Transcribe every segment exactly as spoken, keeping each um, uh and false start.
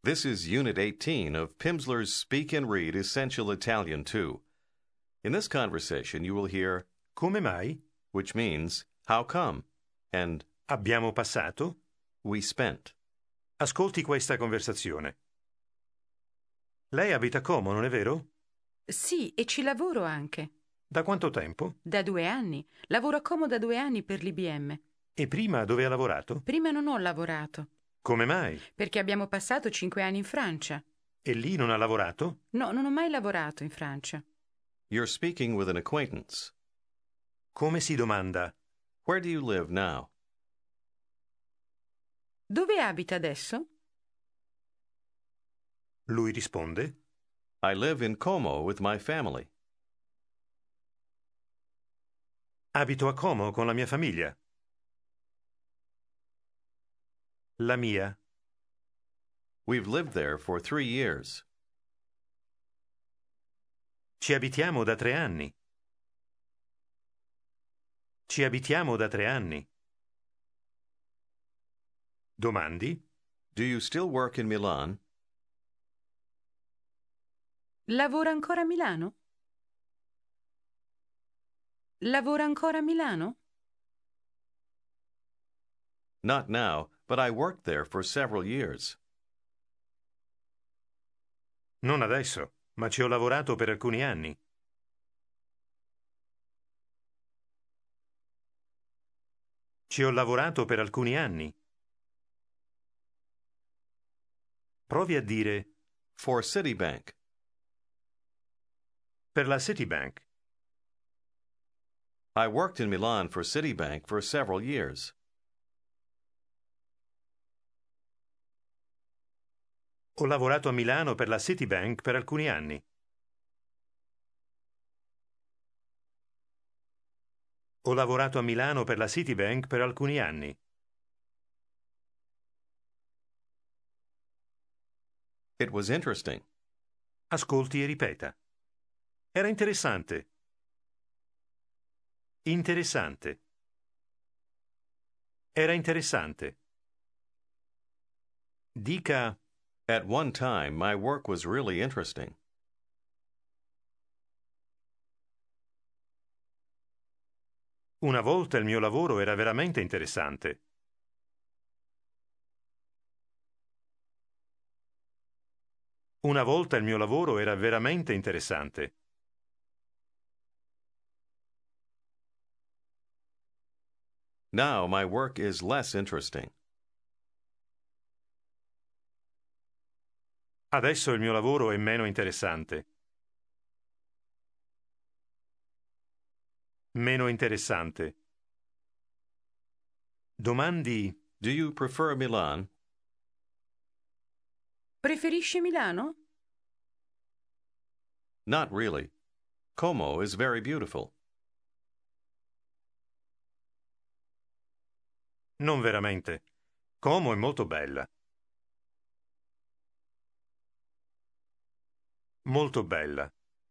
This is Unit eighteen of Pimsleur's Speak and Read Essential Italian two. In this conversation, you will hear Come mai? which means how come, and Abbiamo passato? we spent. Ascolti questa conversazione. Lei abita a Como, non è vero? Sì, e ci lavoro anche. Da quanto tempo? Da due anni. Lavoro a Como da due anni per l'I B M. E prima dove ha lavorato? Prima non ho lavorato, Come mai? perché abbiamo passato cinque anni in Francia. E lì non ha lavorato? No, non ho mai lavorato in Francia. You're speaking with an acquaintance. Come si domanda? Where do you live now? Dove abita adesso? Lui risponde: I live in Como with my family. Abito a Como con la mia famiglia. La mia. We've lived there for three years. Ci abitiamo da tre anni. Ci abitiamo da tre anni. Domandi? Do you still work in Milan? Lavora ancora a Milano? Lavora ancora a Milano? Not now, but I worked there for several years. Non adesso, ma ci ho lavorato per alcuni anni. Ci ho lavorato per alcuni anni. Provi a dire For Citibank. per la Citibank. I worked in Milan for Citibank for several years. Ho lavorato a Milano per la Citibank per alcuni anni. Ho lavorato a Milano per la Citibank per alcuni anni. It was interesting. Ascolti e ripeta. Era interessante. Interessante. Era interessante. Dica: At one time, my work was really interesting. una volta il mio lavoro era veramente interessante. Una volta il mio lavoro era veramente interessante. Now my work is less interesting. Adesso il mio lavoro è meno interessante. Meno interessante. Domandi: Do you prefer Milan? Preferisci Milano? Not really. Como is very beautiful. Non veramente. Como è molto bella. Molto bella.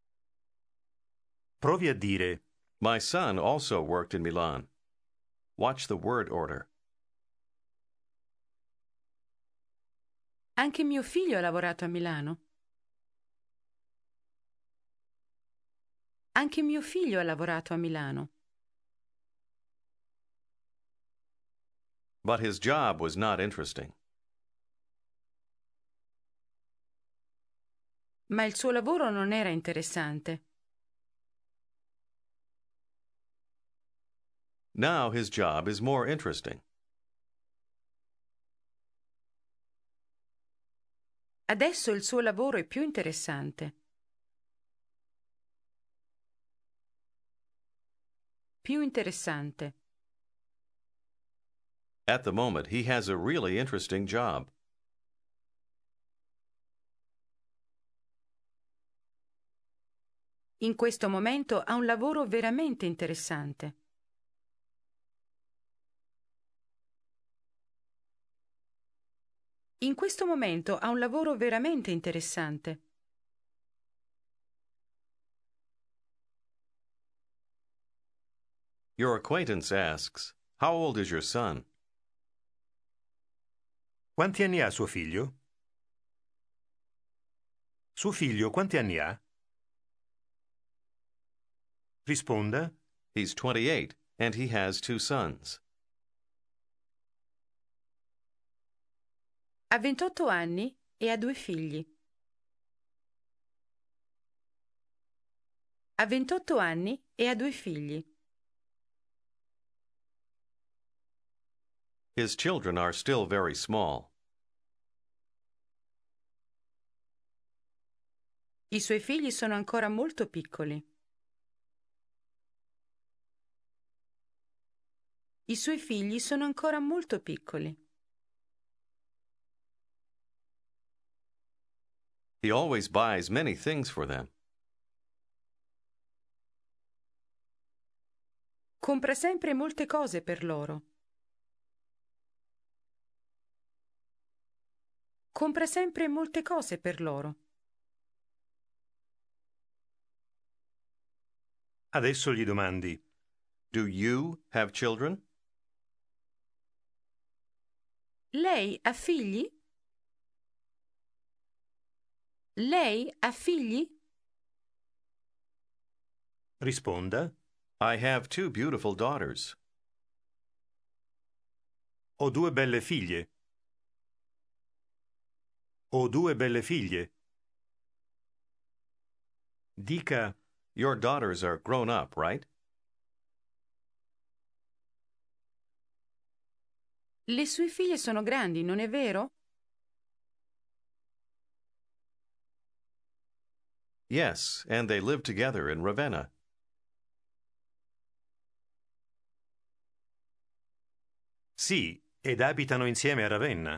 Provi a dire: My son also worked in Milan. Watch the word order. Anche mio figlio ha lavorato a Milano. Anche mio figlio ha lavorato a Milano. But his job was not interesting. Ma il suo lavoro non era interessante. Now his job is more interesting. Adesso il suo lavoro è più interessante. Più interessante. At the moment, he has a really interesting job. In questo momento ha un lavoro veramente interessante. In questo momento ha un lavoro veramente interessante. Your acquaintance asks, How old is your son? quanti anni ha suo figlio? Suo figlio quanti anni ha? Risponda. He's twenty-eight, and he has two sons. Ha ventotto anni e ha due figli. Ha ventotto anni e ha due figli. His children are still very small. I suoi figli sono ancora molto piccoli. I suoi figli sono ancora molto piccoli. He always buys many things for them. Compra sempre molte cose per loro. Compra sempre molte cose per loro. Adesso gli domandi. Do you have children? Lei ha figli? Lei ha figli? Risponda. I have two beautiful daughters. Ho due belle figlie. Ho due belle figlie. Dica. Your daughters are grown up, right? Le sue figlie sono grandi, non è vero? Yes, and they live together in Ravenna. Sì, ed abitano insieme a Ravenna.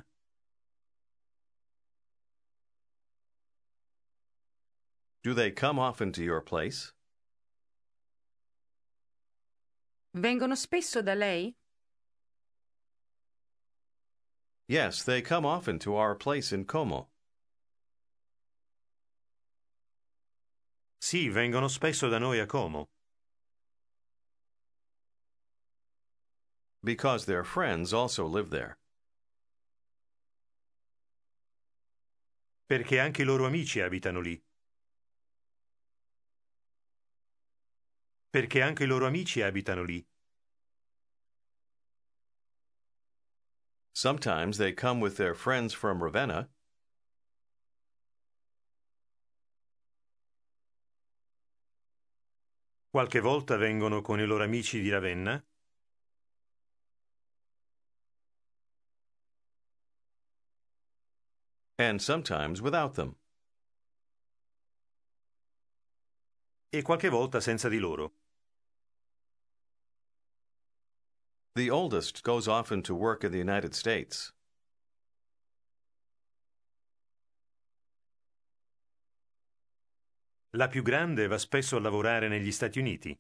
Do they come often to your place? Vengono spesso da lei? Yes, they come often to our place in Como. Sì, vengono spesso da noi a Como. Because their friends also live there. Perché anche i loro amici abitano lì. Perché anche i loro amici abitano lì. Sometimes they come with their friends from Ravenna. Qualche volta vengono con i loro amici di Ravenna. And sometimes without them. E qualche volta senza di loro. The oldest goes often to work in the United States. La più grande va spesso a lavorare negli Stati Uniti.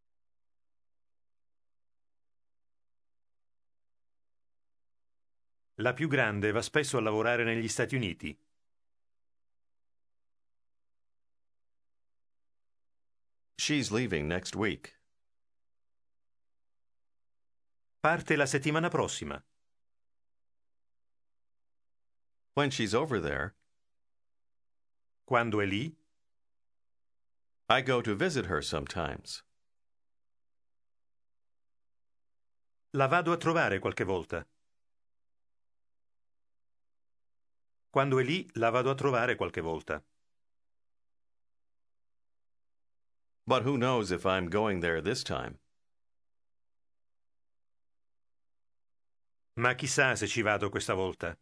La più grande va spesso a lavorare negli Stati Uniti. She's leaving next week. Parte la settimana prossima. When she's over there, Quando è lì, I go to visit her sometimes. la vado a trovare qualche volta. Quando è lì, la vado a trovare qualche volta. But who knows if I'm going there this time? Ma chissà se ci vado questa volta.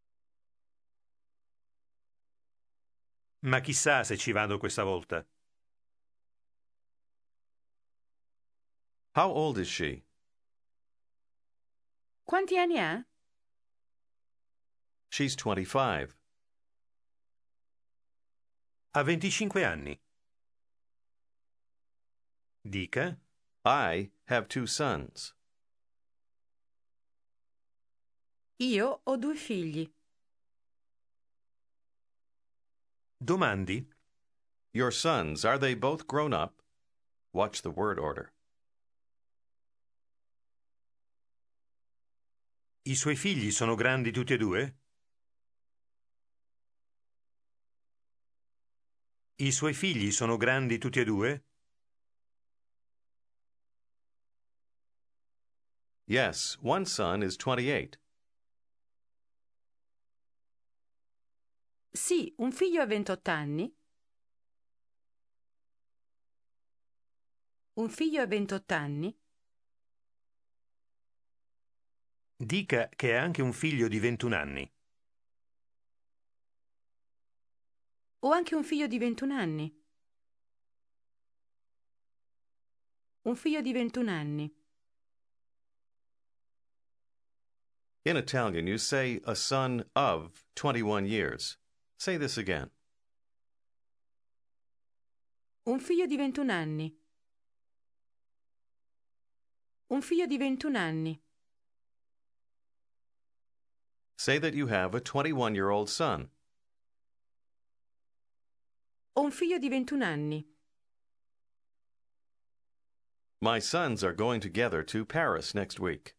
Ma chissà se ci vado questa volta. How old is she? Quanti anni ha? She's twenty-five. Ha venticinque anni. Dica. I have two sons. Io ho due figli. Domandi. Your sons, are they both grown up? Watch the word order. I suoi figli sono grandi tutti e due? I suoi figli sono grandi tutti e due? Yes, one son is twenty-eight. Sì, un figlio ha ventotto anni. Un figlio ha ventotto anni. Dica che ha anche un figlio di ventuno anni. Ho anche un figlio di ventuno anni. Un figlio di ventuno anni. In Italian, you say a son of twenty-one years. Say this again. Un figlio di ventuno anni. Un figlio di ventuno anni. Say that you have a twenty-one-year-old son. Ho un figlio di ventuno anni. My sons are going together to Paris next week.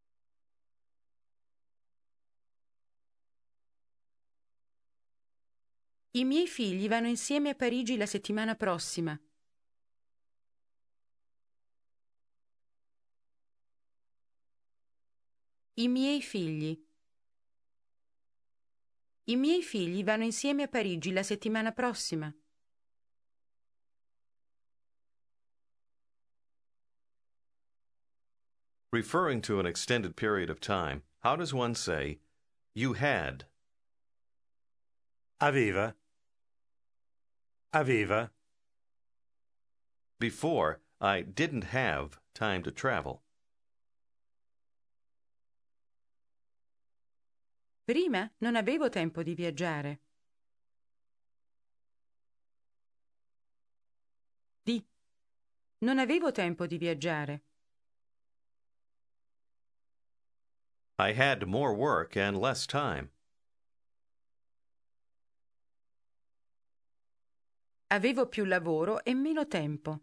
I miei figli vanno insieme a Parigi la settimana prossima. I miei figli. I miei figli vanno insieme a Parigi la settimana prossima. Referring to an extended period of time, how does one say, you had? Aveva. Aveva. Before, I didn't have time to travel. Prima non avevo tempo di viaggiare. Di. Non avevo tempo di viaggiare. I had more work and less time. Avevo più lavoro e meno tempo.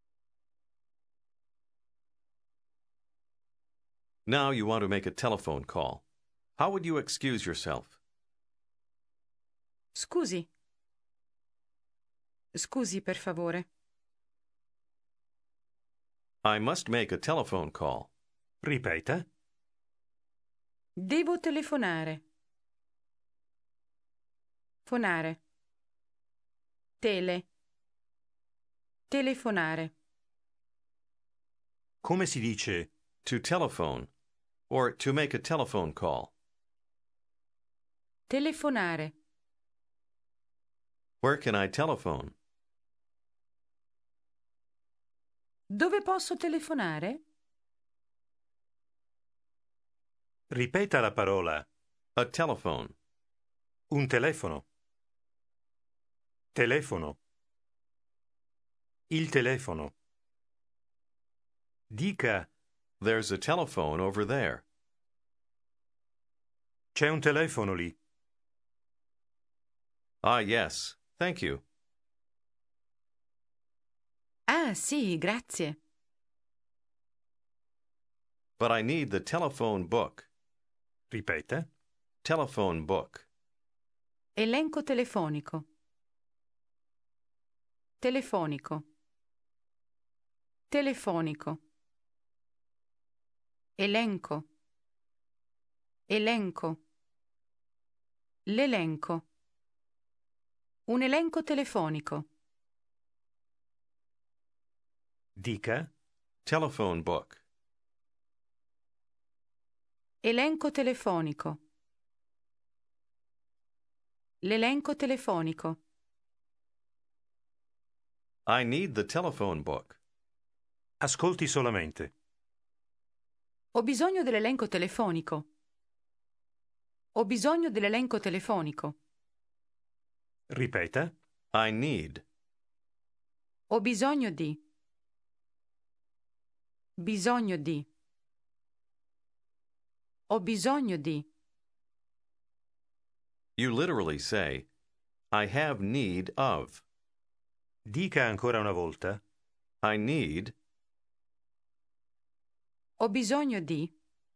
Now you want to make a telephone call. How would you excuse yourself? Scusi. Scusi, per favore. I must make a telephone call. Ripeta. Devo telefonare. Fonare. Tele. Telefonare. Come si dice? To telephone, or to make a telephone call. Telefonare. Where can I telephone? Dove posso telefonare? Ripeta la parola. A telephone. Un telefono. Telefono. Il telefono. Dica. There's a telephone over there. C'è un telefono lì. Ah, yes. Thank you. Ah, sì, grazie. But I need the telephone book. Ripeta. Telephone book. Elenco telefonico. Telefonico. Telefonico. Elenco. Elenco. L'elenco. Un elenco telefonico. Dica. Telephone book. Elenco telefonico. L'elenco telefonico. I need the telephone book. Ascolti solamente. Ho bisogno dell'elenco telefonico. Ho bisogno dell'elenco telefonico. Ripeta. I need. Ho bisogno di. Bisogno di. Ho bisogno di. You literally say, I have need of. Dica ancora una volta. I need. Ho bisogno di.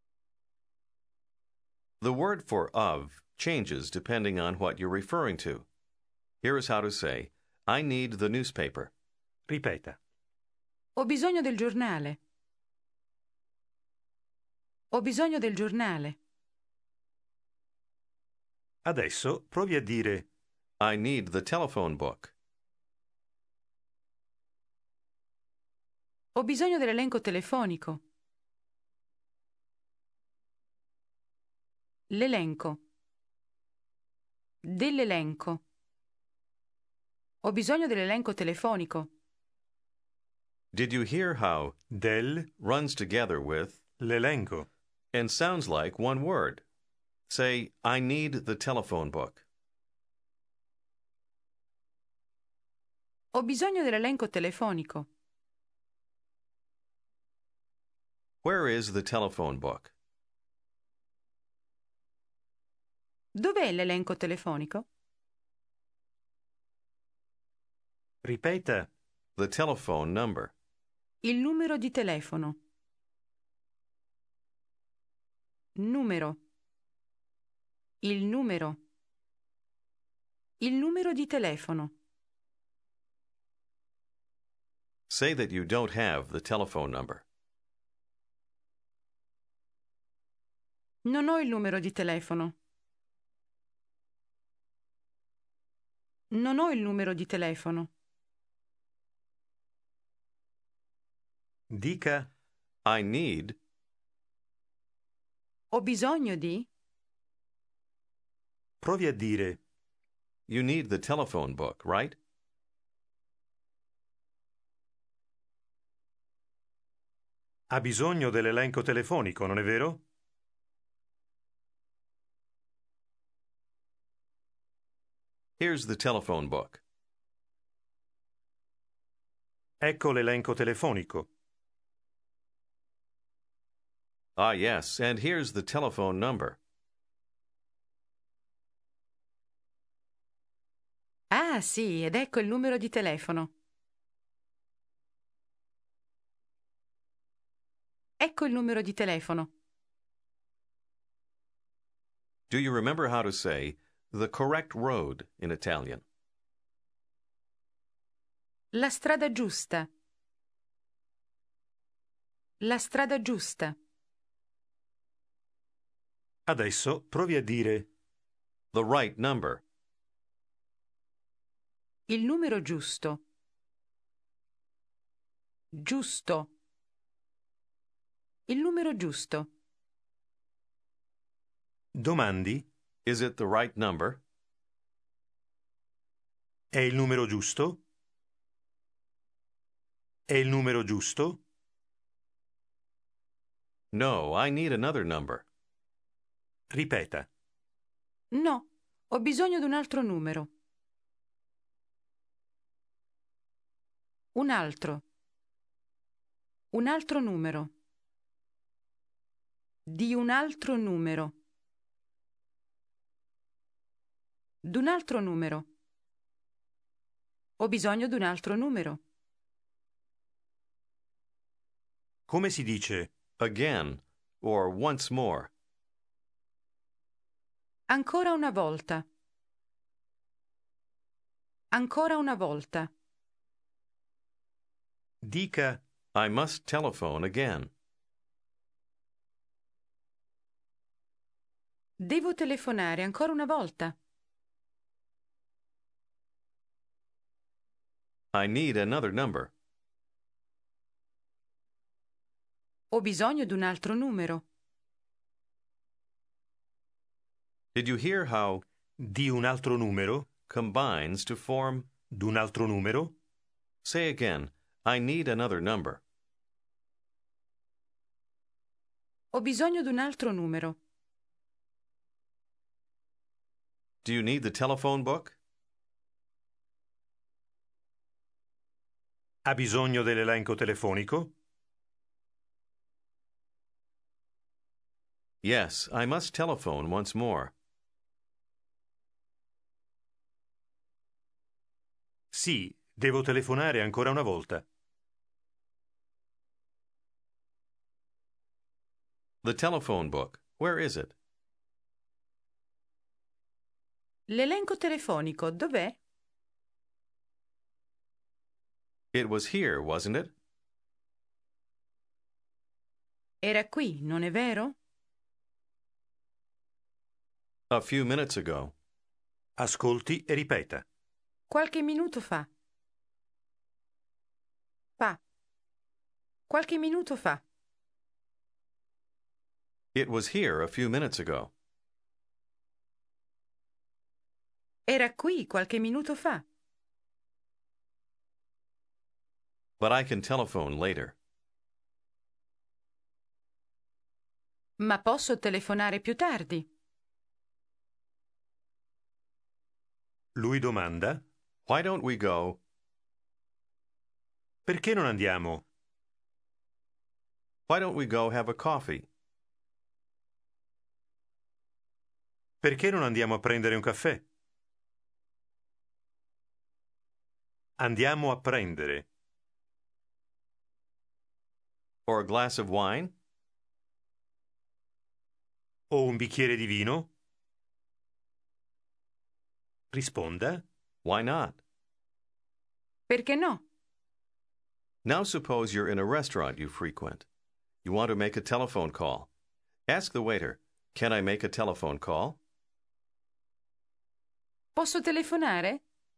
The word for of changes depending on what you're referring to. Here is how to say, I need the newspaper. Ripeta. Ho bisogno del giornale. Ho bisogno del giornale. Adesso provi a dire I need the telephone book. Ho bisogno dell'elenco telefonico. L'elenco. Dell'elenco. Ho bisogno dell'elenco telefonico. Did you hear how del runs together with l'elenco? and sounds like one word? Say, I need the telephone book. Ho bisogno dell'elenco telefonico. Where is the telephone book? Dov'è l'elenco telefonico? Ripeta. The telephone number. Il numero di telefono. Numero. Il numero. Il numero di telefono. Say that you don't have the telephone number. Non ho il numero di telefono. Non ho il numero di telefono. Dica I need. Ho bisogno di. provi a dire You need the telephone book, right? ha bisogno dell'elenco telefonico, non è vero? Here's the telephone book. Ecco l'elenco telefonico. Ah, yes, and here's the telephone number. Ah, sì, ed ecco il numero di telefono. Ecco il numero di telefono. Do you remember how to say the correct road in Italian? La strada giusta. La strada giusta. Adesso provi a dire The right number. Il numero giusto. Giusto. Il numero giusto. domandi Is it the right number? è il numero giusto? È il numero giusto? No, I need another number. Ripeta. No, ho bisogno di un altro numero. Un altro. Un altro numero. Di un altro numero. D'un altro numero. Ho bisogno di un altro numero. Come si dice Again, or once more. Ancora una volta. Ancora una volta. dica I must telephone again. Devo telefonare ancora una volta. I need another number. Ho bisogno di un altro numero. Did you hear how di un altro numero? combines to form? D'un altro numero? Say again, I need another number. Ho bisogno di un altro numero. Do you need the telephone book? Ha bisogno dell'elenco telefonico? Yes, I must telephone once more. Sì, devo telefonare ancora una volta. The telephone book, where is it? L'elenco telefonico dov'è? It was here, wasn't it? Era qui, non è vero? A few minutes ago. Ascolti e ripeta. Qualche minuto fa. Fa. Qualche minuto fa. It was here a few minutes ago. Era qui qualche minuto fa. But I can telephone later. Ma posso telefonare più tardi? Lui domanda: Why don't we go? perché non andiamo? Why don't we go have a coffee? Perché non andiamo a prendere un caffè? Andiamo a prendere. Or a glass of wine? O un bicchiere di vino? Risponda: Why not? Perché no? Now suppose you're in a restaurant you frequent. You want to make a telephone call. Ask the waiter, can I make a telephone call? Posso telefonare?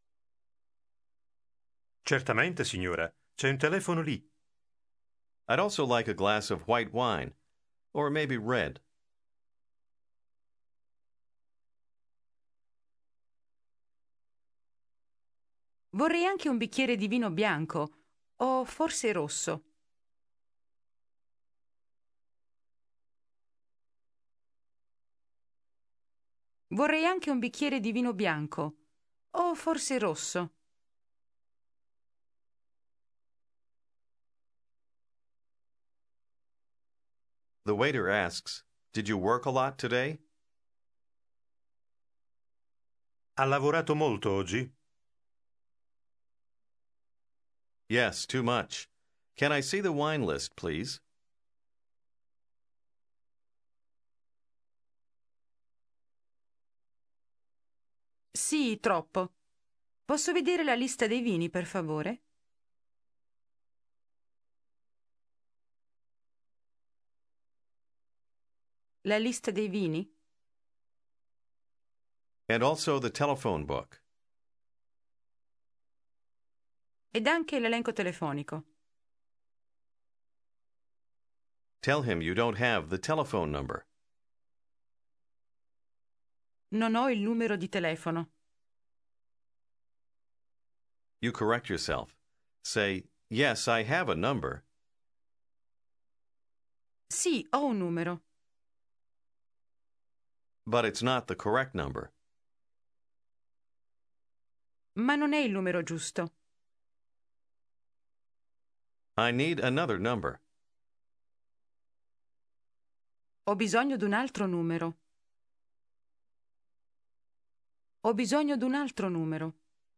Certamente, signora. C'è un telefono lì. I'd also like a glass of white wine, or maybe red. Vorrei anche un bicchiere di vino bianco, o forse rosso. Vorrei anche un bicchiere di vino bianco, o forse rosso. The waiter asks, did you work a lot today? Ha lavorato molto oggi? Yes, too much. Can I see the wine list, please? Sì, troppo. Posso vedere la lista dei vini, per favore? La lista dei vini? And also the telephone book. Ed anche l'elenco telefonico. Tell him you don't have the telephone number. Non ho il numero di telefono. You correct yourself. Say, yes, I have a number. Sì, ho un numero. But it's not the correct number. Ma non è il numero giusto. I need another number. Ho bisogno d'un altro numero. Ho bisogno d'un altro numero.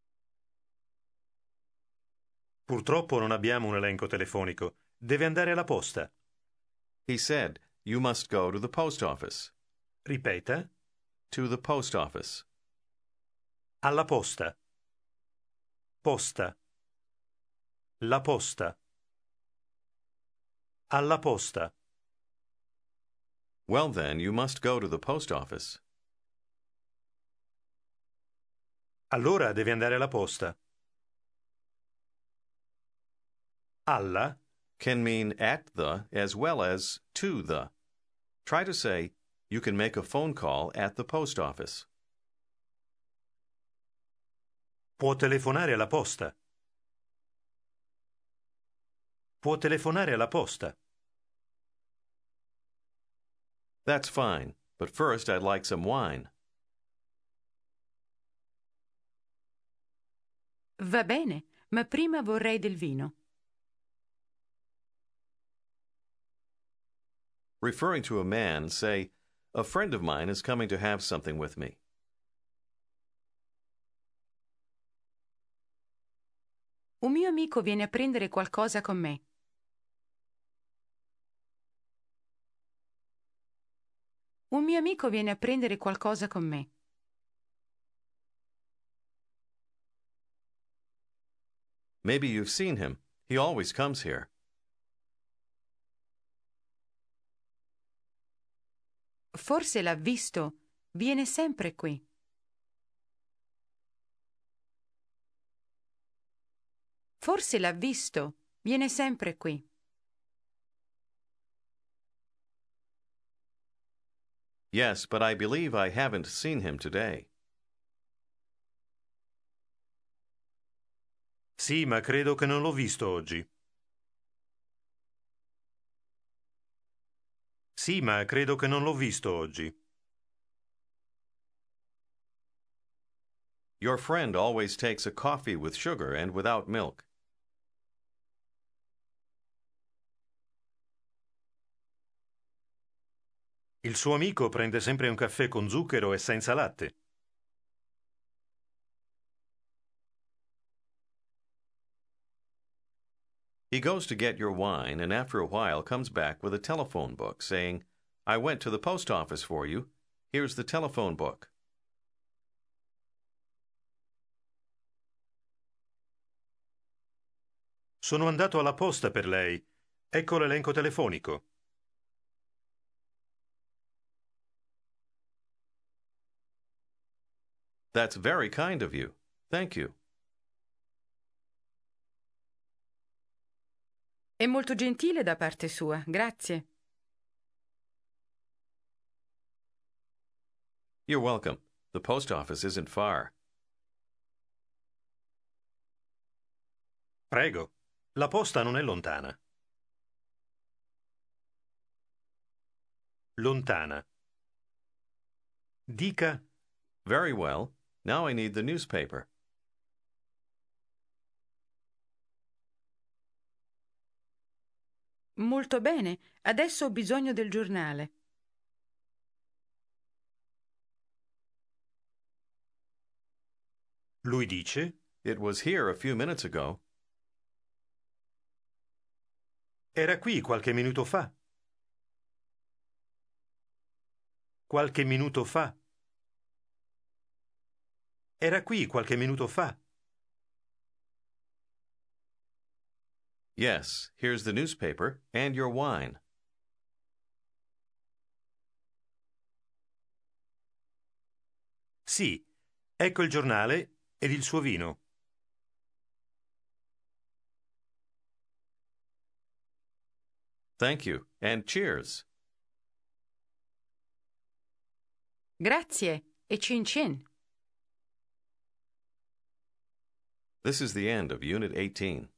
Purtroppo non abbiamo un elenco telefonico. Deve andare alla posta. He said, you must go to the post office. Ripeta: To the post office. alla posta. Posta. La posta. Alla posta. Well, then, you must go to the post office. Allora deve andare alla posta. Alla Can mean at the as well as to the. Try to say, you can make a phone call at the post office. può telefonare alla posta. Può telefonare alla posta. That's fine, but first I'd like some wine. Va bene, ma prima vorrei del vino. Referring to a man, say, a friend of mine is coming to have something with me. Un mio amico viene a prendere qualcosa con me. Un mio amico viene a prendere qualcosa con me. Maybe you've seen him. He always comes here. Forse l'ha visto. Viene sempre qui. Forse l'ha visto. Viene sempre qui. Yes, but I believe I haven't seen him today. Sì, ma credo che non l'ho visto oggi. Sì, ma credo che non l'ho visto oggi. Your friend always takes a coffee with sugar and without milk. Il suo amico prende sempre un caffè con zucchero e senza latte. He goes to get your wine and after a while comes back with a telephone book saying, I went to the post office for you. Here's the telephone book. Sono andato alla posta per lei. Ecco l'elenco telefonico. That's very kind of you. Thank you. È molto gentile da parte sua. Grazie. You're welcome. The post office isn't far. Prego. La posta non è lontana. Lontana. Dica: Very well. Now I need the newspaper. Molto bene. Adesso ho bisogno del giornale. Lui dice: It was here a few minutes ago. Era qui qualche minuto fa. Qualche minuto fa. Era qui qualche minuto fa. Yes, here's the newspaper and your wine. Sì, ecco il giornale ed il suo vino. Thank you, and cheers. Grazie e cin cin. This is the end of Unit eighteen.